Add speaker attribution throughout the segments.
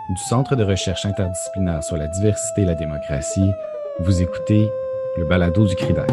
Speaker 1: Du Centre de recherche interdisciplinaire sur la diversité et la démocratie, vous écoutez le balado du CRIDAC.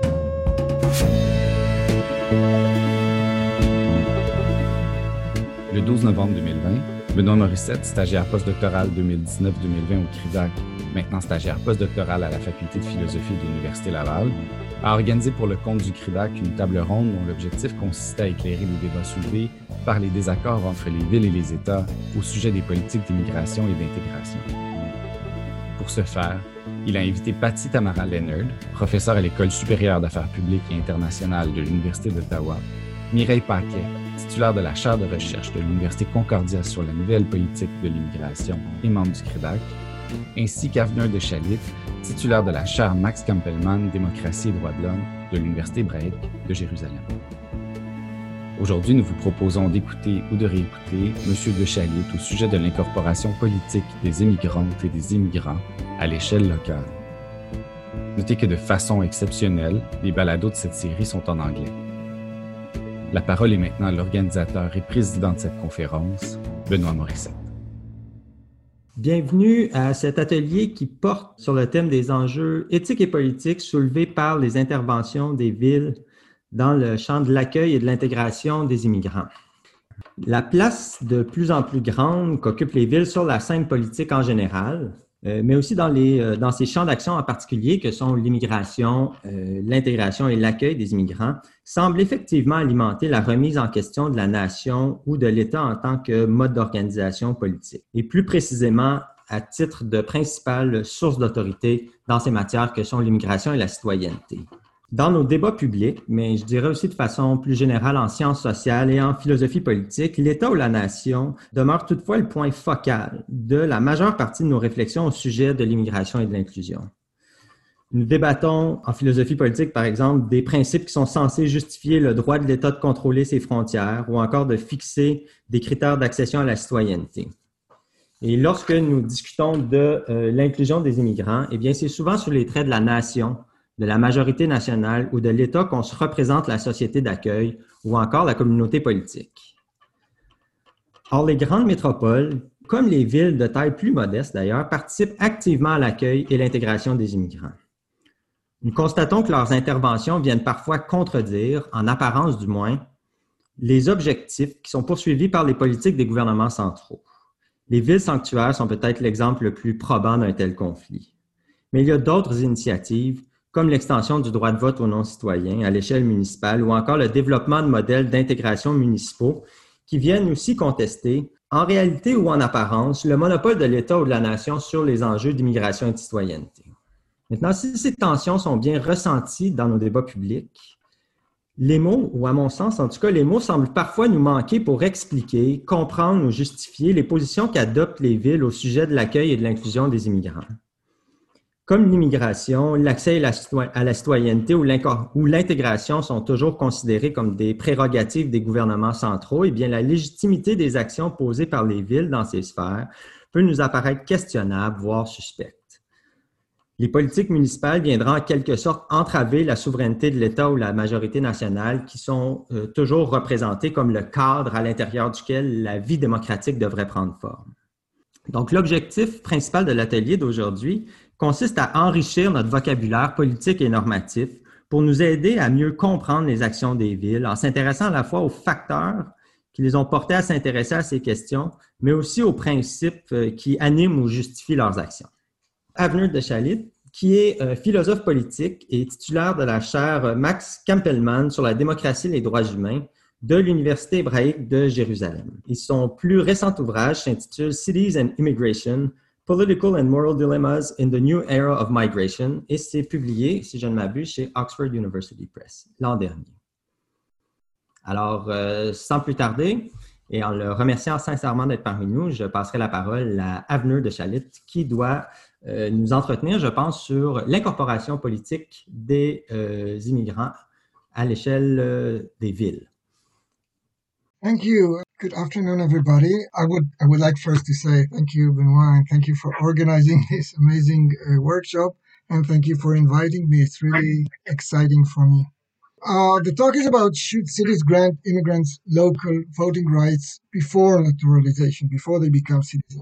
Speaker 1: Le 12 novembre 2020, Benoît Morissette, stagiaire postdoctoral 2019-2020 au CRIDAC, maintenant stagiaire postdoctoral à la Faculté de philosophie de l'Université Laval, a organisé pour le compte du CRIDAC une table ronde dont l'objectif consistait à éclairer les débats soulevés par les désaccords entre les villes et les États au sujet des politiques d'immigration et d'intégration. Pour ce faire, il a invité Patty Tamara Leonard, professeure à l'École supérieure d'affaires publiques et internationales de l'Université d'Ottawa, Mireille Paquet, titulaire de la chaire de recherche de l'Université Concordia sur la nouvelle politique de l'immigration et membre du CRIDAC, ainsi qu'Avner de Chalit, titulaire de la chaire Max Campbellman, démocratie et droits de l'homme de l'Université hébraïque de Jérusalem. Aujourd'hui, nous vous proposons d'écouter ou de réécouter M. de Chalit au sujet de l'incorporation politique des immigrantes et des immigrants à l'échelle locale. Notez que de façon exceptionnelle, les balados de cette série sont en anglais. La parole est maintenant à l'organisateur et président de cette conférence, Benoît Morissette.
Speaker 2: Bienvenue à cet atelier qui porte sur le thème des enjeux éthiques et politiques soulevés par les interventions des villes dans le champ de l'accueil et de l'intégration des immigrants. La place de plus en plus grande qu'occupent les villes sur la scène politique en général, mais aussi dans ces champs d'action en particulier que sont l'immigration, l'intégration et l'accueil des immigrants, semble effectivement alimenter la remise en question de la nation ou de l'État en tant que mode d'organisation politique, et plus précisément à titre de principale source d'autorité dans ces matières que sont l'immigration et la citoyenneté. Dans nos débats publics, mais je dirais aussi de façon plus générale en sciences sociales et en philosophie politique, l'État ou la nation demeure toutefois le point focal de la majeure partie de nos réflexions au sujet de l'immigration et de l'inclusion. Nous débattons en philosophie politique, par exemple, des principes qui sont censés justifier le droit de l'État de contrôler ses frontières ou encore de fixer des critères d'accession à la citoyenneté. Et lorsque nous discutons de l'inclusion des immigrants, eh bien, c'est souvent sur les traits de la nation, de la majorité nationale ou de l'État qu'on se représente la société d'accueil ou encore la communauté politique. Or, les grandes métropoles, comme les villes de taille plus modeste d'ailleurs, participent activement à l'accueil et l'intégration des immigrants. Nous constatons que leurs interventions viennent parfois contredire, en apparence du moins, les objectifs qui sont poursuivis par les politiques des gouvernements centraux. Les villes sanctuaires sont peut-être l'exemple le plus probant d'un tel conflit. Mais il y a d'autres initiatives comme l'extension du droit de vote aux non-citoyens à l'échelle municipale ou encore le développement de modèles d'intégration municipaux qui viennent aussi contester, en réalité ou en apparence, le monopole de l'État ou de la nation sur les enjeux d'immigration et de citoyenneté. Maintenant, si ces tensions sont bien ressenties dans nos débats publics, les mots, ou à mon sens en tout cas, les mots semblent parfois nous manquer pour expliquer, comprendre ou justifier les positions qu'adoptent les villes au sujet de l'accueil et de l'inclusion des immigrants. Comme l'immigration, l'accès à la citoyenneté ou l'intégration sont toujours considérés comme des prérogatives des gouvernements centraux, eh bien, la légitimité des actions posées par les villes dans ces sphères peut nous apparaître questionnable, voire suspecte. Les politiques municipales viendront en quelque sorte entraver la souveraineté de l'État ou la majorité nationale qui sont toujours représentées comme le cadre à l'intérieur duquel la vie démocratique devrait prendre forme. Donc, l'objectif principal de l'atelier d'aujourd'hui consiste à enrichir notre vocabulaire politique et normatif pour nous aider à mieux comprendre les actions des villes en s'intéressant à la fois aux facteurs qui les ont portés à s'intéresser à ces questions, mais aussi aux principes qui animent ou justifient leurs actions. Avner de Chalit, qui est philosophe politique et titulaire de la chaire Max Campbellman sur la démocratie et les droits humains de l'Université hébraïque de Jérusalem. Et son plus récent ouvrage s'intitule « Cities and Immigration, Political and Moral Dilemmas in the New Era of Migration » et c'est publié, si je ne m'abuse, chez Oxford University Press l'an dernier. Alors, sans plus tarder, et en le remerciant sincèrement d'être parmi nous, je passerai la parole à Avner de Chalit qui doit nous entretenir, je pense, sur l'incorporation politique des immigrants à l'échelle des villes.
Speaker 3: Thank you. Good afternoon, everybody. I would like first to say thank you, Benoit, and thank you for organizing this amazing workshop, and thank you for inviting me. It's really exciting for me. The talk is about should cities grant immigrants local voting rights before naturalization, before they become citizens.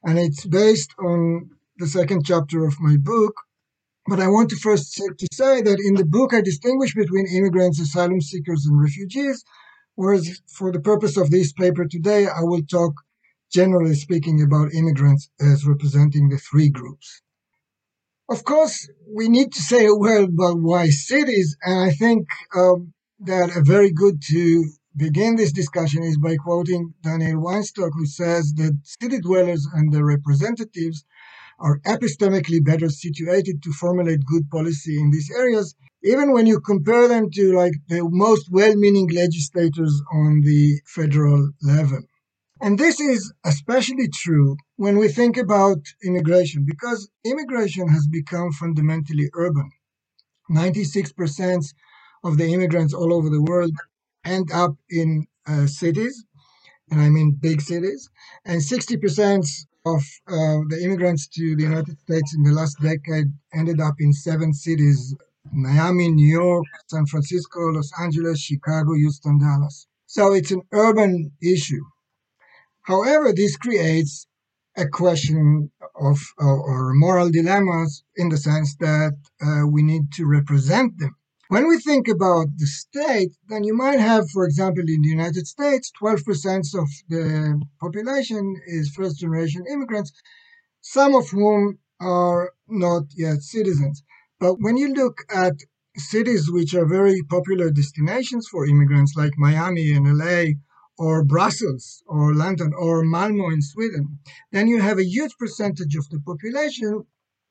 Speaker 3: and it's based on the second chapter of my book. But I want to first say that in the book, I distinguish between immigrants, asylum seekers, and refugees, whereas for the purpose of this paper today, I will talk, generally speaking, about immigrants as representing the three groups. Of course, we need to say a word about why cities, and I think that a very good to begin this discussion is by quoting Daniel Weinstock, who says that city dwellers and their representatives are epistemically better situated to formulate good policy in these areas, even when you compare them to like the most well-meaning legislators on the federal level. And this is especially true when we think about immigration, because immigration has become fundamentally urban. 96% of the immigrants all over the world end up in cities, and I mean big cities, and 60% of the immigrants to the United States in the last decade ended up in 7 cities: Miami, New York, San Francisco, Los Angeles, Chicago, Houston, Dallas. So it's an urban issue. However, this creates a question of or moral dilemmas in the sense that we need to represent them. When we think about the state, then you might have, for example, in the United States, 12% of the population is first generation immigrants, some of whom are not yet citizens. But when you look at cities which are very popular destinations for immigrants, like Miami and LA, or Brussels, or London, or Malmo in Sweden, then you have a huge percentage of the population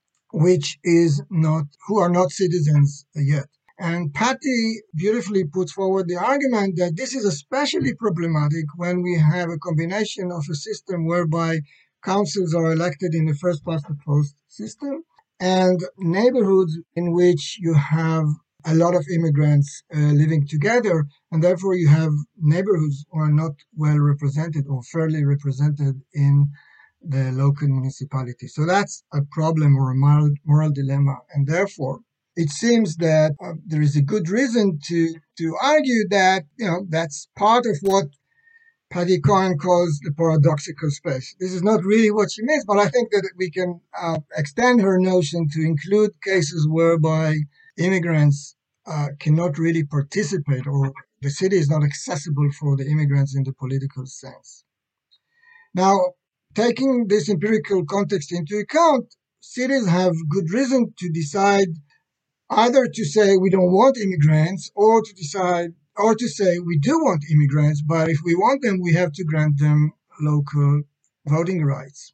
Speaker 3: who are not citizens yet. And Patty beautifully puts forward the argument that this is especially problematic when we have a combination of a system whereby councils are elected in the first past the post system and neighborhoods in which you have a lot of immigrants living together, and therefore you have neighborhoods who are not well represented or fairly represented in the local municipality. So that's a problem or a moral dilemma, and therefore it seems that there is a good reason to argue that that's part of what Patty Cohen calls the paradoxical space. This is not really what she means, but I think that we can extend her notion to include cases whereby immigrants cannot really participate, or the city is not accessible for the immigrants in the political sense. Now, taking this empirical context into account, cities have good reason to decide either to say we don't want immigrants, or to say we do want immigrants, but if we want them, we have to grant them local voting rights.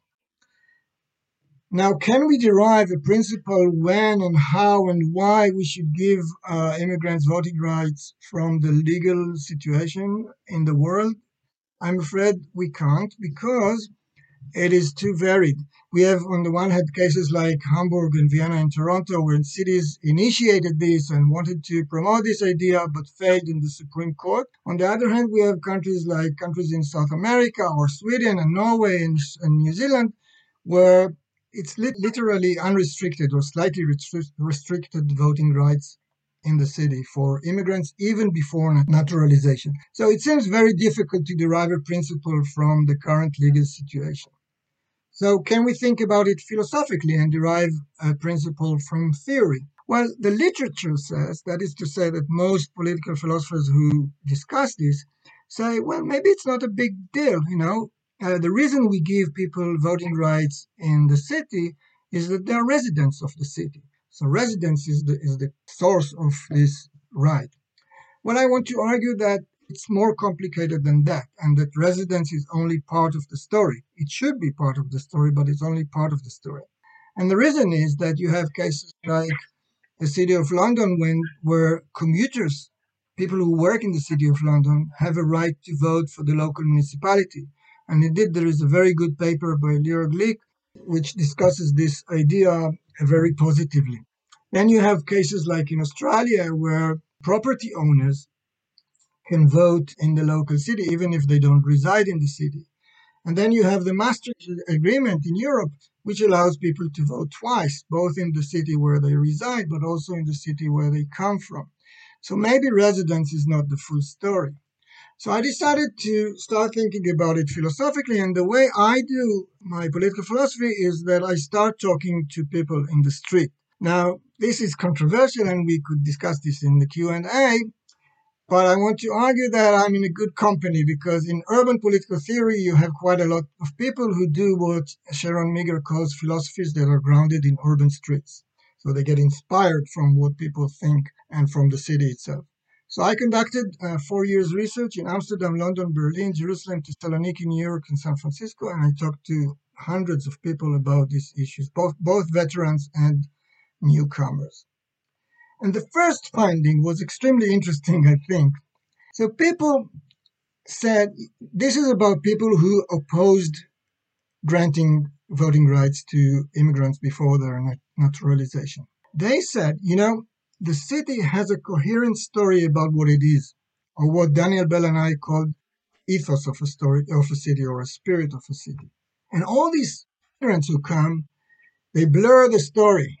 Speaker 3: Now, can we derive a principle when and how and why we should give immigrants voting rights from the legal situation in the world? I'm afraid we can't, because it is too varied. We have, on the one hand, cases like Hamburg and Vienna and Toronto, where cities initiated this and wanted to promote this idea but failed in the Supreme Court. On the other hand, we have countries in South America, or Sweden and Norway and New Zealand, where it's literally unrestricted or slightly restricted voting rights in the city for immigrants even before naturalization. So it seems very difficult to derive a principle from the current legal situation. So can we think about it philosophically and derive a principle from theory? Well, the literature says, that is to say that most political philosophers who discuss this say, well, maybe it's not a big deal, the reason we give people voting rights in the city is that they are residents of the city. So residence is the source of this right. Well, I want to argue that it's more complicated than that, and that residence is only part of the story. It should be part of the story, but it's only part of the story. And the reason is that you have cases like the City of London where commuters, people who work in the City of London, have a right to vote for the local municipality. And indeed, there is a very good paper by Lior Glick which discusses this idea very positively. Then you have cases like in Australia where property owners can vote in the local city even if they don't reside in the city. And then you have the Maastricht Agreement in Europe, which allows people to vote twice, both in the city where they reside, but also in the city where they come from. So maybe residence is not the full story. So I decided to start thinking about it philosophically, and the way I do my political philosophy is that I start talking to people in the street. Now, this is controversial, and we could discuss this in the Q&A, but I want to argue that I'm in a good company because in urban political theory, you have quite a lot of people who do what Sharon Meagher calls philosophies that are grounded in urban streets. So they get inspired from what people think and from the city itself. So I conducted 4 years research in Amsterdam, London, Berlin, Jerusalem, Thessaloniki, New York, and San Francisco, and I talked to hundreds of people about these issues, both veterans and newcomers. And the first finding was extremely interesting, I think. So people said this is about people who opposed granting voting rights to immigrants before their naturalization. They said, the city has a coherent story about what it is, or what Daniel Bell and I called ethos of a story of a city or a spirit of a city. And all these immigrants who come, they blur the story.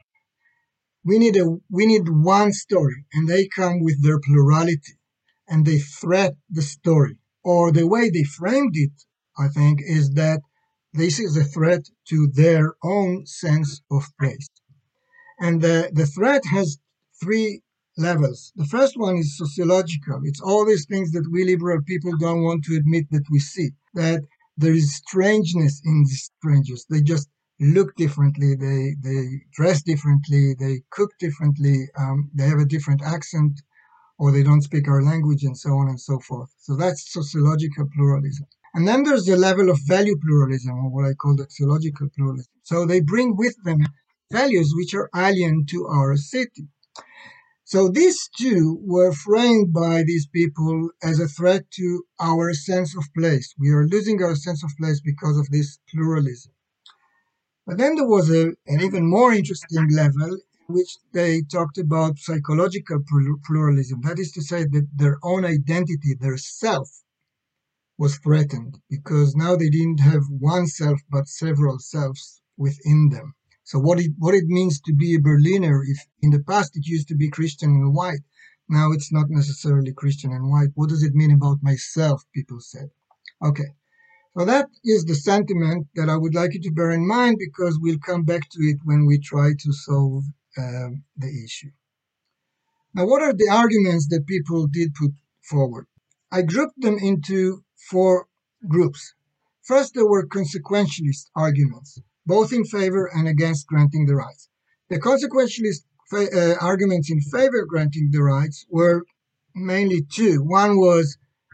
Speaker 3: We need one story, and they come with their plurality, and they threat the story. Or the way they framed it, I think, is that this is a threat to their own sense of place. And the threat has three levels. The first one is sociological. It's all these things that we liberal people don't want to admit that we see, that there is strangeness in these strangers. They just look differently, they dress differently, they cook differently, they have a different accent, or they don't speak our language, and so on and so forth. So that's sociological pluralism. And then there's the level of value pluralism, or what I call axiological pluralism. So they bring with them values which are alien to our city. So these two were framed by these people as a threat to our sense of place. We are losing our sense of place because of this pluralism. But then there was an even more interesting level in which they talked about psychological pluralism. That is to say that their own identity, their self, was threatened because now they didn't have one self but several selves within them. So what it means to be a Berliner, if in the past it used to be Christian and white, now it's not necessarily Christian and white. What does it mean about myself, people said. Okay, so that is the sentiment that I would like you to bear in mind because we'll come back to it when we try to solve the issue. Now, what are the arguments that people did put forward? I grouped them into 4 groups. First, there were consequentialist arguments, both in favor and against granting the rights. The consequentialist arguments in favor of granting the rights were mainly 2. One was,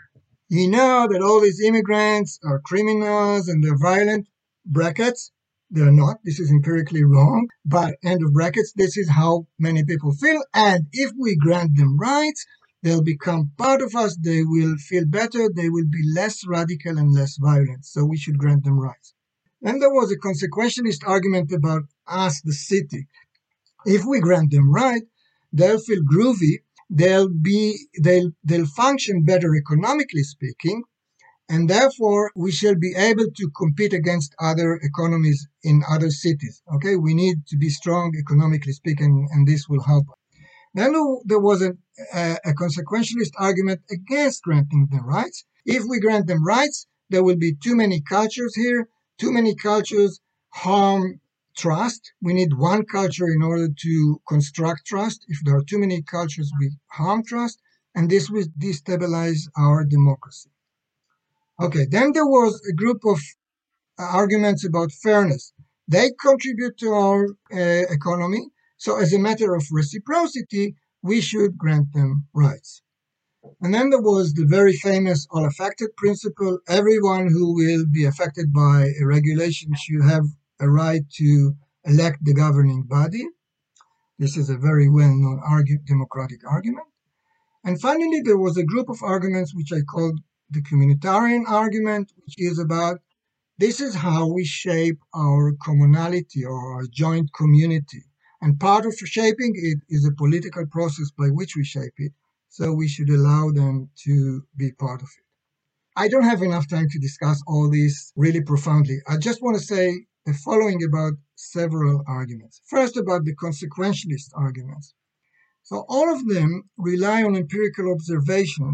Speaker 3: that all these immigrants are criminals and they're violent, brackets. They're not. This is empirically wrong. But end of brackets, this is how many people feel. And if we grant them rights, they'll become part of us. They will feel better. They will be less radical and less violent. So we should grant them rights. Then there was a consequentialist argument about us, the city. If we grant them right, they'll feel groovy. They'll function better economically speaking. And therefore, we shall be able to compete against other economies in other cities. Okay, we need to be strong economically speaking, and this will help us. Then there was a consequentialist argument against granting them rights. If we grant them rights, there will be too many cultures here. Too many cultures harm trust. We need one culture in order to construct trust. If there are too many cultures, we harm trust, and this will destabilize our democracy. Okay, then there was a group of arguments about fairness. They contribute to our economy, so as a matter of reciprocity, we should grant them rights. And then there was the very famous all affected principle. Everyone who will be affected by a regulation should have a right to elect the governing body. This is a very well-known democratic argument. And finally, there was a group of arguments which I called the communitarian argument, which is about this is how we shape our commonality or our joint community. And part of shaping it is a political process by which we shape it. So we should allow them to be part of it. I don't have enough time to discuss all this really profoundly. I just want to say the following about several arguments. First, about the consequentialist arguments. So all of them rely on empirical observations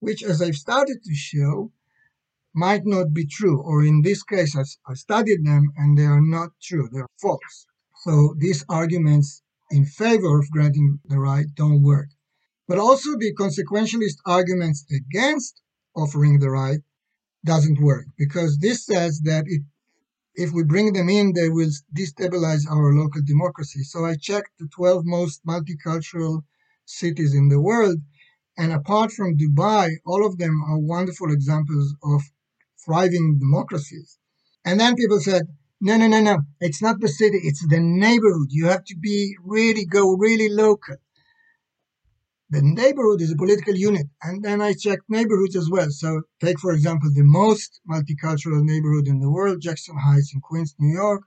Speaker 3: which, as I've started to show, might not be true. Or in this case, I studied them and they are not true, they're false. So these arguments in favor of granting the right don't work. But also the consequentialist arguments against offering the right doesn't work, because this says that if we bring them in, they will destabilize our local democracy. So I checked the 12 most multicultural cities in the world, and apart from Dubai, all of them are wonderful examples of thriving democracies. And then people said, no, it's not the city, it's the neighborhood. You have to go really local. The neighborhood is a political unit. And then I checked neighborhoods as well. So take, for example, the most multicultural neighborhood in the world, Jackson Heights in Queens, New York,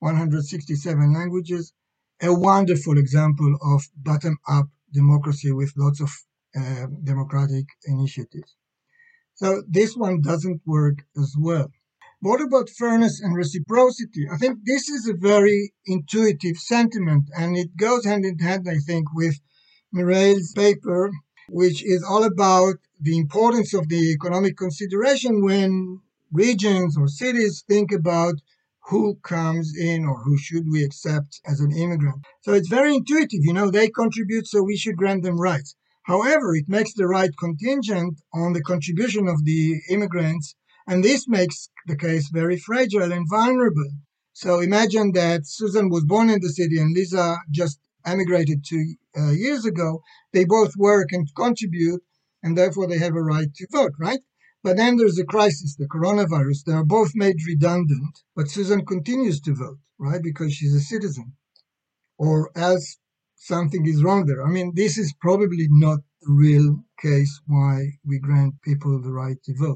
Speaker 3: 167 languages, a wonderful example of bottom-up democracy with lots of democratic initiatives. So this one doesn't work as well. What about fairness and reciprocity? I think this is a very intuitive sentiment, and it goes hand in hand, I think, with Mireille's paper, which is all about the importance of the economic consideration when regions or cities think about who comes in or who should we accept as an immigrant. So it's very intuitive, they contribute, so we should grant them rights. However, it makes the right contingent on the contribution of the immigrants, and this makes the case very fragile and vulnerable. So imagine that Susan was born in the city and Lisa just emigrated 2 years ago. They both work and contribute, and therefore they have a right to vote, right? But then there's a crisis, the coronavirus. They are both made redundant, but Susan continues to vote, right? Because she's a citizen. Or else something is wrong there. I mean, this is probably not the real case why we grant people the right to vote.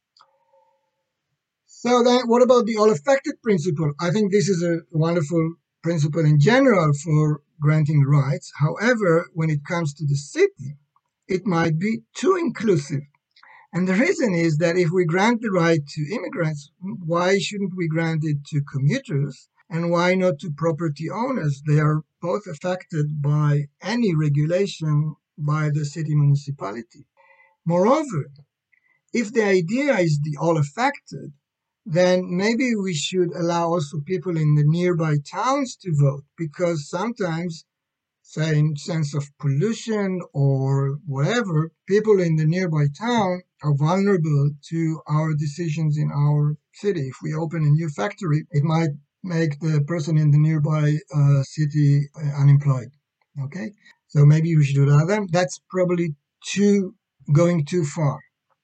Speaker 3: So then what about the all-affected principle? I think this is a wonderful principle in general for granting rights. However, when it comes to the city, it might be too inclusive. And the reason is that if we grant the right to immigrants, why shouldn't we grant it to commuters? And why not to property owners? They are both affected by any regulation by the city municipality. Moreover, if the idea is the all affected, then maybe we should allow also people in the nearby towns to vote, because sometimes, say in sense of pollution or whatever, people in the nearby town are vulnerable to our decisions in our city. If we open a new factory, it might make the person in the nearby city unemployed. Okay, so maybe we should allow them. That's probably going too far.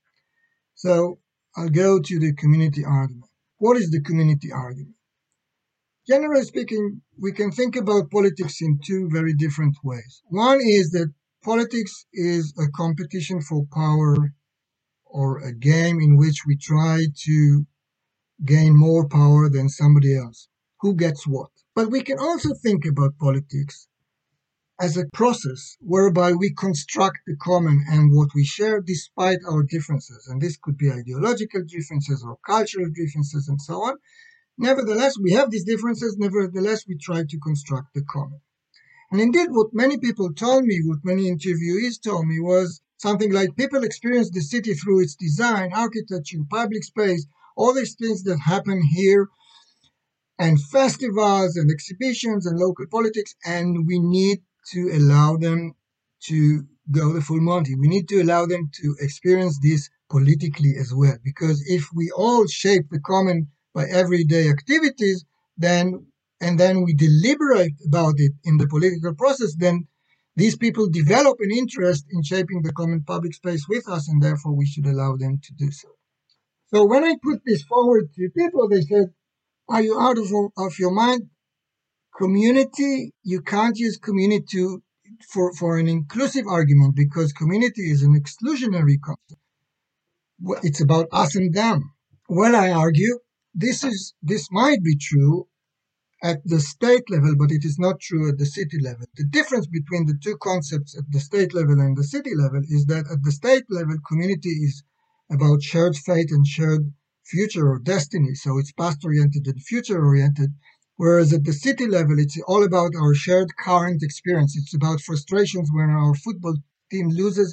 Speaker 3: So I'll go to the community argument. What is the community argument? Generally speaking, we can think about politics in two very different ways. One is that politics is a competition for power, or a game in which we try to gain more power than somebody else. Who gets what? But we can also think about politics as a process whereby we construct the common and what we share despite our differences. And this could be ideological differences or cultural differences and so on. Nevertheless, we have these differences. Nevertheless, we try to construct the common. And indeed, what many people told me, what many interviewees told me, was something like people experience the city through its design, architecture, public space, all these things that happen here, and festivals and exhibitions and local politics, and we need to allow them to go the full Monty. We need to allow them to experience this politically as well, because if we all shape the common by everyday activities, then we deliberate about it in the political process, then these people develop an interest in shaping the common public space with us, and therefore we should allow them to do so. So when I put this forward to people, they said, are you out of your mind? Community, you can't use community for an inclusive argument, because community is an exclusionary concept. It's about us and them. Well, I argue, this might be true at the state level, but it is not true at the city level. The difference between the two concepts at the state level and the city level is that at the state level, community is about shared fate and shared future or destiny. So it's past-oriented and future-oriented. Whereas at the city level, it's all about our shared current experience. It's about frustrations when our football team loses,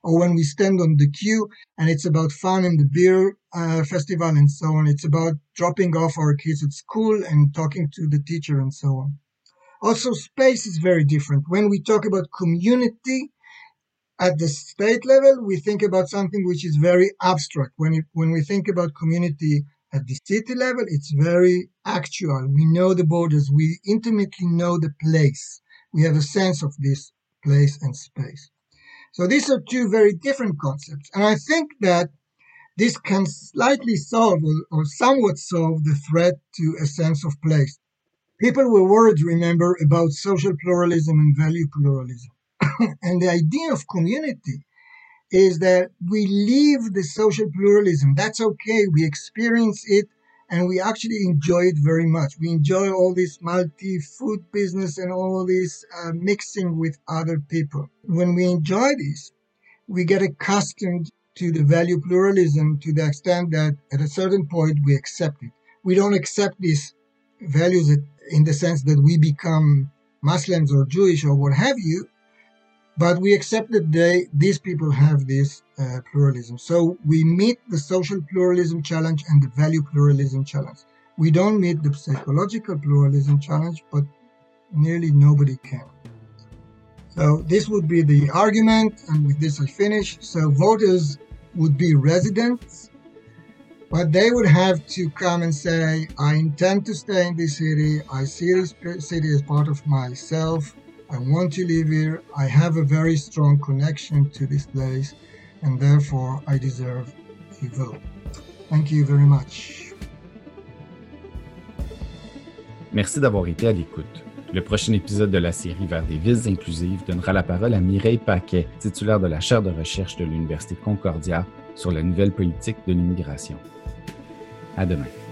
Speaker 3: or when we stand on the queue and it's about fun and the beer festival and so on. It's about dropping off our kids at school and talking to the teacher and so on. Also, space is very different. When we talk about community at the state level, we think about something which is very abstract. When we think about community at the city level, it's very actual. We know the borders. We intimately know the place. We have a sense of this place and space. So these are two very different concepts. And I think that this can slightly solve or somewhat solve the threat to a sense of place. People were worried, remember, about social pluralism and value pluralism. And the idea of community is that we live the social pluralism. That's okay. We experience it and we actually enjoy it very much. We enjoy all this multi-food business and all this mixing with other people. When we enjoy this, we get accustomed to the value pluralism to the extent that at a certain point we accept it. We don't accept these values in the sense that we become Muslims or Jewish or what have you, but we accept that these people have this pluralism. So we meet the social pluralism challenge and the value pluralism challenge. We don't meet the psychological pluralism challenge, but nearly nobody can. So this would be the argument, and with this I finish. So voters would be residents, but they would have to come and say, I intend to stay in this city. I see this city as part of myself. I want to live here. I have a very strong connection to this place, and therefore I deserve a vote. Thank you very much.
Speaker 1: Merci d'avoir été à l'écoute. Le prochain épisode de la série Vers des villes inclusives donnera la parole à Mireille Paquet, titulaire de la chaire de recherche de l'Université Concordia sur la nouvelle politique de l'immigration. À demain.